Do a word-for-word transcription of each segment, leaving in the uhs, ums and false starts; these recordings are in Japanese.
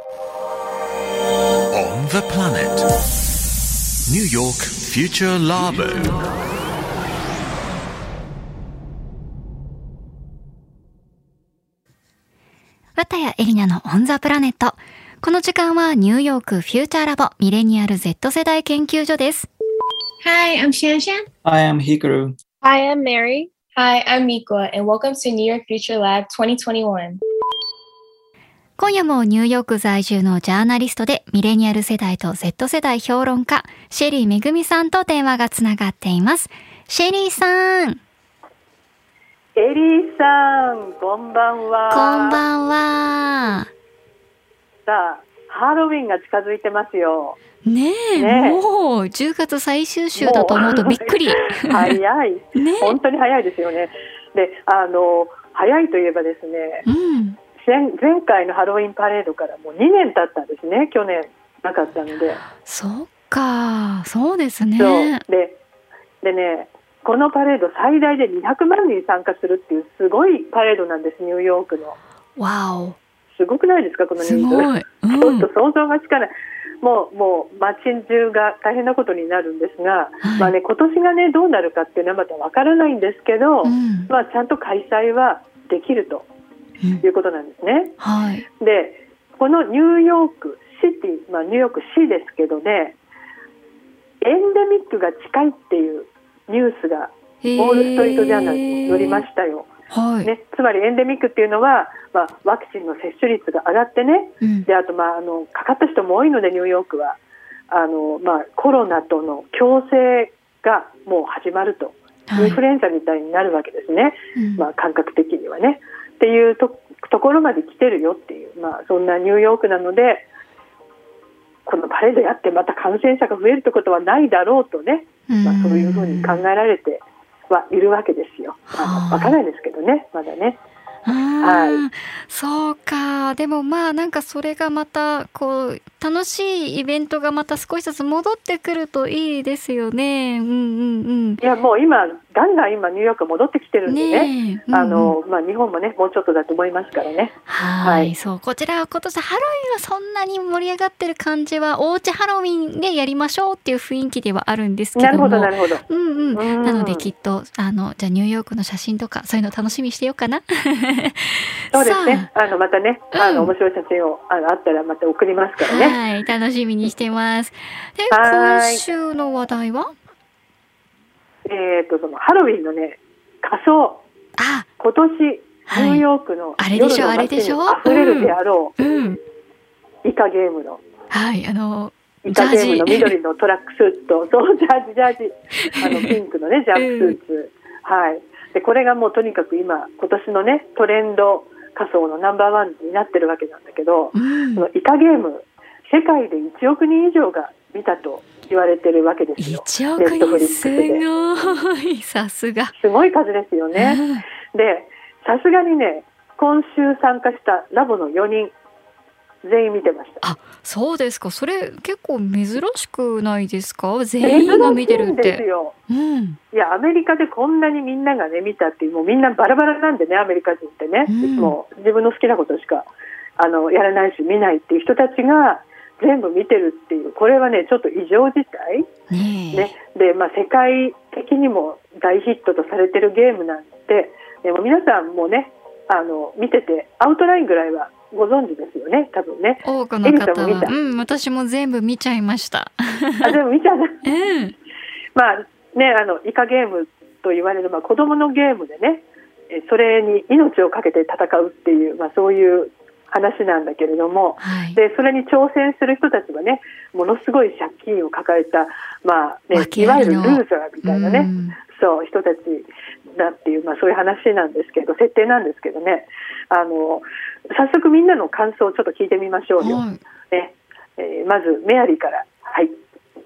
On the planet New York Future Labo。 綿谷エリナのオンザプラネット。この時間はニューヨークフューチャーラボミレニアル Z 世代研究所です。 Hi, I'm Shanshan. Hi, I'm Hikaru. Hi, I'm Mary. Hi, I'm Mikwa, and welcome to New York Future Lab twenty twenty-one。 今夜もニューヨーク在住のジャーナリストでミレニアル世代と Z 世代評論家シェリーめぐみさんと電話がつながっています。シェリーさん。 エリーさん、こんばんは。 こんばんは。 さあ、ハロウィンが近づいてますよ。 ねえ、ねえもうじゅうがつ最終週だと思うとびっくり。 早い、ね、本当に早いですよね。で、あの早いといえばですね、うん、前回のハロウィンパレードからもうにねん経ったんですね。去年なかったので。 そっか、そうですね。 そうで、でね、このパレード最大でにひゃくまんにん参加するっていうすごいパレードなんです。ニューヨークの。 わお。 すごくないですか、この人数。 すごい、うん、 ちょっと想像がつかない。もうもう街中が大変なことになるんですが、はい、まあね、今年がねどうなるかっていうのはまたわからないんですけど、うん、まあちゃんと開催はできるということなんですね。うん、 はい。 で、このニューヨークシティ、まあニューヨーク市ですけどね、エンデミックが近いっていうニュースがウォールストリートジャーナルに載りましたよ。 はいね、つまりエンデミックっていうのは、まあ、ワクチンの接種率が上がってね、うん、であと、まあ、あのかかった人も多いのでニューヨークはあの、まあ、コロナとの共生がもう始まると、はい、インフルエンザみたいになるわけですね、うんまあ、感覚的にはねっていう と, ところまで来てるよっていう、まあ、そんなニューヨークなので、このパレードやってまた感染者が増えるってことはないだろうとね、まあ、そういうふうに考えられてはいるわけですよ。まあ、わからないですけどね、まだね。 はい、そうか。でもまあなんかそれがまたこう楽しいイベントがまた少しずつ戻ってくるといいですよね。うんうんうん。 いやもう今ガンガン今ニューヨーク戻ってきてるんでね。ね、うんうん、あのまあ日本もねもうちょっとだと思いますからね。 はい、はい、そうこちらは今年ハロウィンはそんなに盛り上がってる感じはおうちハロウィンでやりましょうっていう雰囲気ではあるんですけども。 なるほどなるほど。 うんうん。うんなのできっとあのじゃあニューヨークの写真とかそういうの楽しみにしてようかな。 そうですね。あのまたね、あの、うん、面白い写真をあのあったらまた送りますからね。 はい、楽しみにしてます。で、今週の話題は？ えっとそのハロウィンのね仮装。あ、今年ニューヨークの夜の街にあふれるであろう、うん、イカゲームの。 はい、あのイカゲームの緑のトラックスーツとそうジャージジャージあのピンクのねジャンプスーツ、うん、はい。でこれがもうとにかく今今年のねトレンド仮装のナンバーワンになってるわけなんだけど、うん、そのイカゲーム世界でいちおくにん以上が見たと言われてるわけですよ。 いちおくにんすごい、さすがすごい数ですよね、うん、でさすがにね今週参加したラボのよにん全員見てました。 あ、そうですか。それ結構珍しくないですか？全員が見てるって。 珍しいんですよ、うん、いやアメリカでこんなにみんながね見たっていう、もうみんなバラバラなんでね、アメリカ人ってね、うん、もう自分の好きなことしかあのやらないし見ないっていう人たちが全部見てるっていう、これはねちょっと異常事態、ね、で、まあ、世界的にも大ヒットとされてるゲームなんで、でも皆さんもねあの見ててアウトラインぐらいはご存知ですよね、多分ね。 多くの方は、うん、私も全部見ちゃいました。 あ、全部見ちゃった。うん、まあね、あのイカゲームと言われる、まあ、子供のゲームでね、それに命をかけて戦うっていう、まあ、そういう話なんだけれども、はい、でそれに挑戦する人たちはね、ものすごい借金を抱えた、まあね、いわゆるルーザーみたいなね、うん、そう人たちだっていう、まあ、そういう話なんですけど、設定なんですけどね、あの早速みんなの感想をちょっと聞いてみましょうよ、はいねえー、まずメアリーから。はい。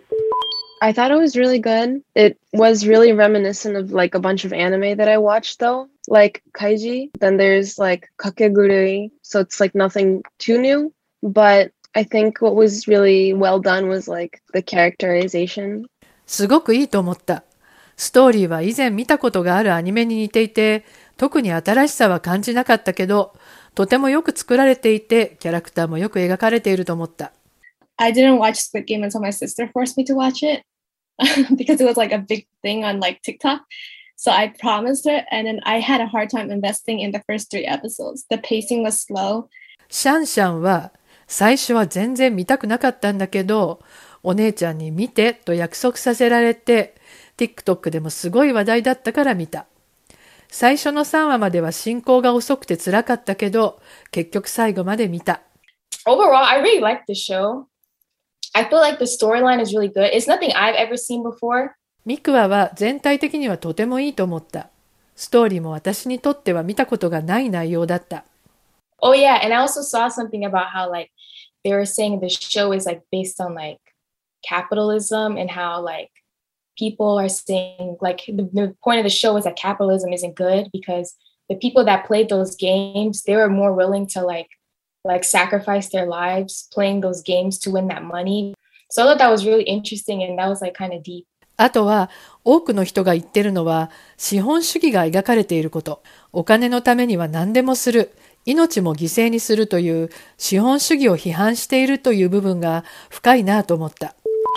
I thought it was really good. It was really reminiscent of like a bunch of anime that I watched though, like Kaiji. Then there's like Kakegurui, so it's like nothing too new. But I think what was really well done was like the characterization. すごくいいと思った。ストーリーは以前見たことがあるアニメに似ていて、特に新しさは感じなかったけど、 とてもよく作られていて、キャラクターもよく描かれていると思った。 I didn't watch Squid Game until my sister forced me to watch it because it was like a big thing on like TikTok. So I promised her, and then I had a hard time investing in the first three episodes. The pacing was slow. シャンシャンは最初は全然見たくなかったんだけど、お姉ちゃんに見てと約束させられて、TikTok でもすごい話題だったから見た。最初のさんわまでは進行が遅くて辛かったけど、結局最後まで見た。 Overall, I really like the show. I feel like the storyline is really good. It's nothing I've ever seen before. ミクワは全体的にはとてもいいと思った。ストーリーも私にとっては見たことがない内容だった。 Oh yeah, and I also saw something about how like they were saying the show is like based on like capitalism and how like people are saying like the, the point of the show is that capitalism isn't good because the people that played those games, they were more willing to like like sacrifice their lives playing those games to win that money. So I thought that was really interesting and that was like kind of deep. あとは多くの人が言ってるのは資本主義が描かれていること。お金のためには何でもする。命も犠牲にするという資本主義を批判しているという部分が深いなと思った。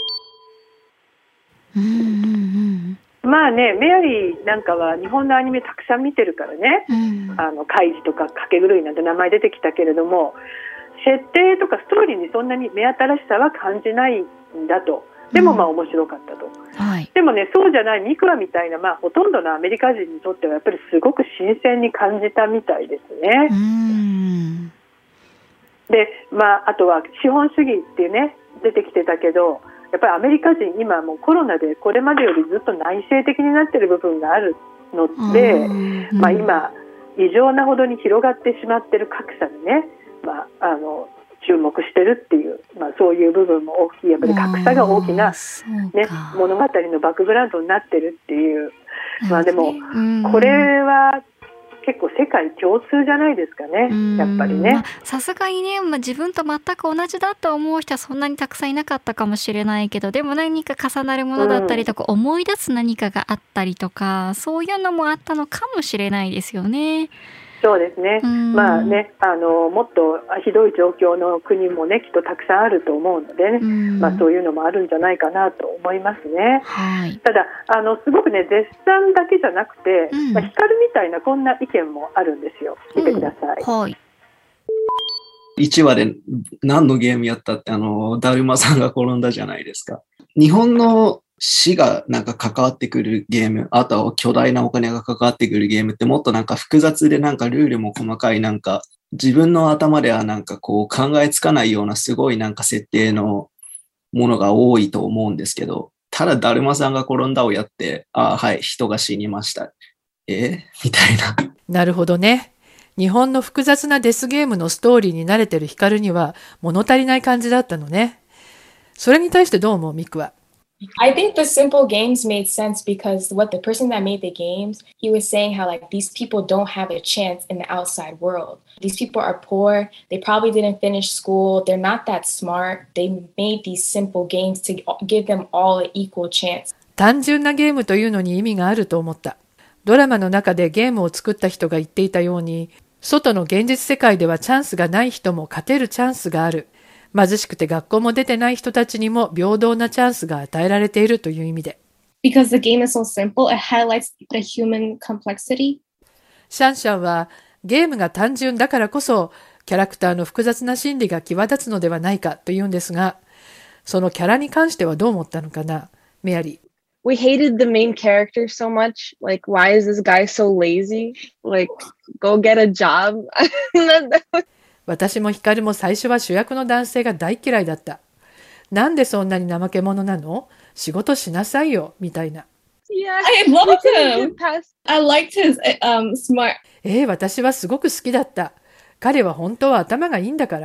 うんうんうんまあね、メアリーなんかは日本のアニメたくさん見てるからね、うん、あのカイジとかかけ狂いなんて名前出てきたけれども、設定とかストーリーにそんなに目新しさは感じないんだと。でもまあ面白かったと、うんはい、でもねそうじゃないミクワみたいな、まあ、ほとんどのアメリカ人にとってはやっぱりすごく新鮮に感じたみたいですね。うんで、まあ、あとは資本主義っていうね出てきてたけどやっぱりアメリカ人今もうコロナでこれまでよりずっと内省的になっている部分があるので、まあ、今異常なほどに広がってしまっている格差にね、まあ、あの注目してるっていう、まあ、そういう部分も大きいやっぱり格差が大きな、ね、物語のバックグラウンドになってるっていう、まあ、でもこれは結構世界共通じゃないですかねやっぱりね。 さすがにね、まあ、自分と全く同じだと思う人はそんなにたくさんいなかったかもしれないけどでも何か重なるものだったりとか、うん、思い出す何かがあったりとかそういうのもあったのかもしれないですよね。 そうですね、まあねあのもっとひどい状況の国もねきっとたくさんあると思うのでね、まあ、そういうのもあるんじゃないかなと思いますね、はい、ただあのすごくね絶賛だけじゃなくて、うんまあ、光みたいなこんな意見もあるんですよ。聞いてください、うんはい、 いちわで何のゲームやったってあのだるまさんが転んだじゃないですか。日本の死がなんか関わってくるゲーム、あとは巨大なお金が関わってくるゲームってもっとなんか複雑でなんかルールも細かいなんか自分の頭ではなんかこう考えつかないようなすごいなんか設定のものが多いと思うんですけど、ただだるまさんが転んだをやって、ああはい、人が死にました。えみたいな。 なるほどね。日本の複雑なデスゲームのストーリーに慣れてるヒカルには物足りない感じだったのね。それに対してどう思うミクは。 I think the simple games made sense because what the person that made the games, he was saying how like these people don't have a chance in the outside world. These people are poor. They probably didn't finish school. They're not that smart. They made these simple games to give them all an equal chance. 単純なゲームというのに意味があると思った。ドラマの中でゲームを作った人が言っていたように、外の現実世界ではチャンスがない人も勝てるチャンスがある。貧しくて学校も出てない人たちにも平等なチャンスが与えられているという意味で。 Because the game is so simple, it highlights the human complexity. シャンシャンはゲームが単純だからこそキャラクターの複雑な心理が際立つのではないかというんですが、そのキャラに関してはどう思ったのかな、メアリー。 We hated the main character so much. Like, why is this guy so lazy? Like, go get a job. 私もヒカルも最初は主役の男性が大嫌いだった。なんでそんなに怠け者なの？仕事しなさいよ、みたいな。 Yeah, I loved him. I liked his um, smart. えー、私はすごく好きだった。彼は本当は頭がいいんだから。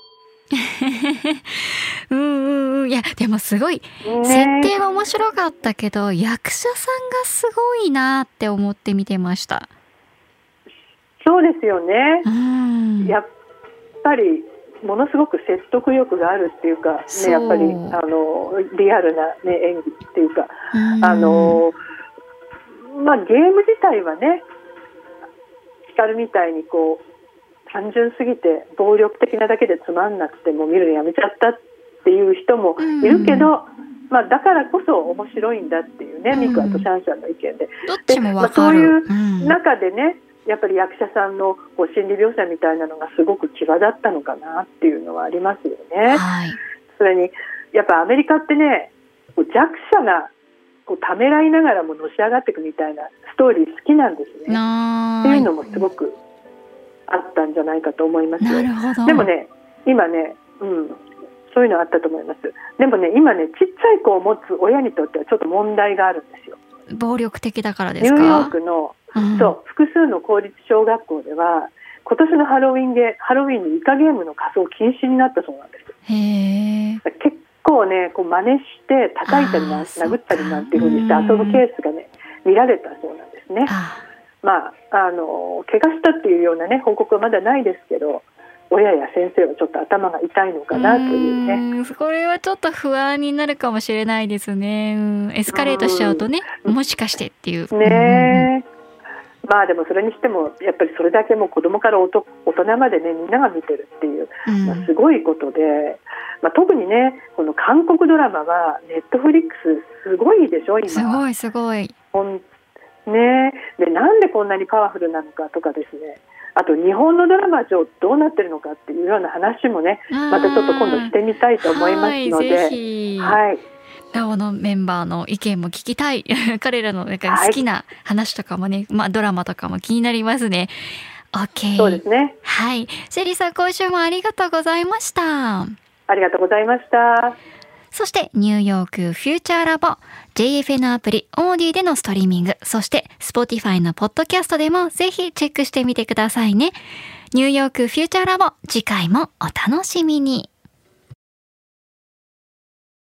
うんうんうん。いや、でもすごい、設定は面白かったけど、役者さんがすごいなって思って見てました。 そうですよね。 うん。 やっぱりものすごく説得力があるっていうか、ね、やっぱりあのリアルな、ね、演技っていうか、あのまあ、ゲーム自体はねヒカルみたいにこう単純すぎて暴力的なだけでつまんなくてもう見るのやめちゃったっていう人もいるけど、うんまあ、だからこそ面白いんだっていうね、うん、ミクアとシャンシャンの意見で、 どっちもわかる、 まあ、そういう中でね、やっぱり役者さんのこう心理描写みたいなのがすごく際立ったのかなっていうのはありますよね、 はい、 それにやっぱアメリカってね、こう弱者がこうためらいながらものし上がっていくみたいなストーリー好きなんですね。っていうのもすごくあったんじゃないかと思いますよ。 なるほど。 でもね、今ね、うん、そういうのあったと思います。でもね、今ね、ちっちゃい子を持つ親にとってはちょっと問題があるんですよ。 暴力的だからですか？ ニューヨークの、うん、そう複数の公立小学校では今年のハロウィンゲハロウィンにイカゲームの仮装禁止になったそうなんです。 へー。 結構ね、こう真似して叩いたりな殴ったりなんていう風にして遊ぶケースがね見られたそうなんですね。あまああの怪我したっていうようなね報告はまだないですけど、親や先生はちょっと頭が痛いのかなというね。 うこれはちょっと不安になるかもしれないですね。うんエスカレートしちゃうとね、もしかしてっていうね。まあでもそれにしてもやっぱりそれだけもう子供から大人までねみんなが見てるっていう、まあ、すごいことで、まあ、特にねこの韓国ドラマはネットフリックスすごいでしょ今。 すごいすごい。 ね、でなんでこんなにパワフルなのかとかですね、あと日本のドラマ上どうなってるのかっていうような話もねまたちょっと今度してみたいと思いますので、 はい、ぜひ、はい、ラオのメンバーの意見も聞きたい彼らのなんか好きな話とかもね、はいまあ、ドラマとかも気になりますね。 OK。 そうですね。 はい、シェリーさん今週もありがとうございました。 ありがとうございました。 そしてニューヨークフューチャーラボ ジェイエフエヌ アプリオーディでのストリーミング、そして Spotify のポッドキャストでもぜひチェックしてみてくださいね。ニューヨークフューチャーラボ、次回もお楽しみに。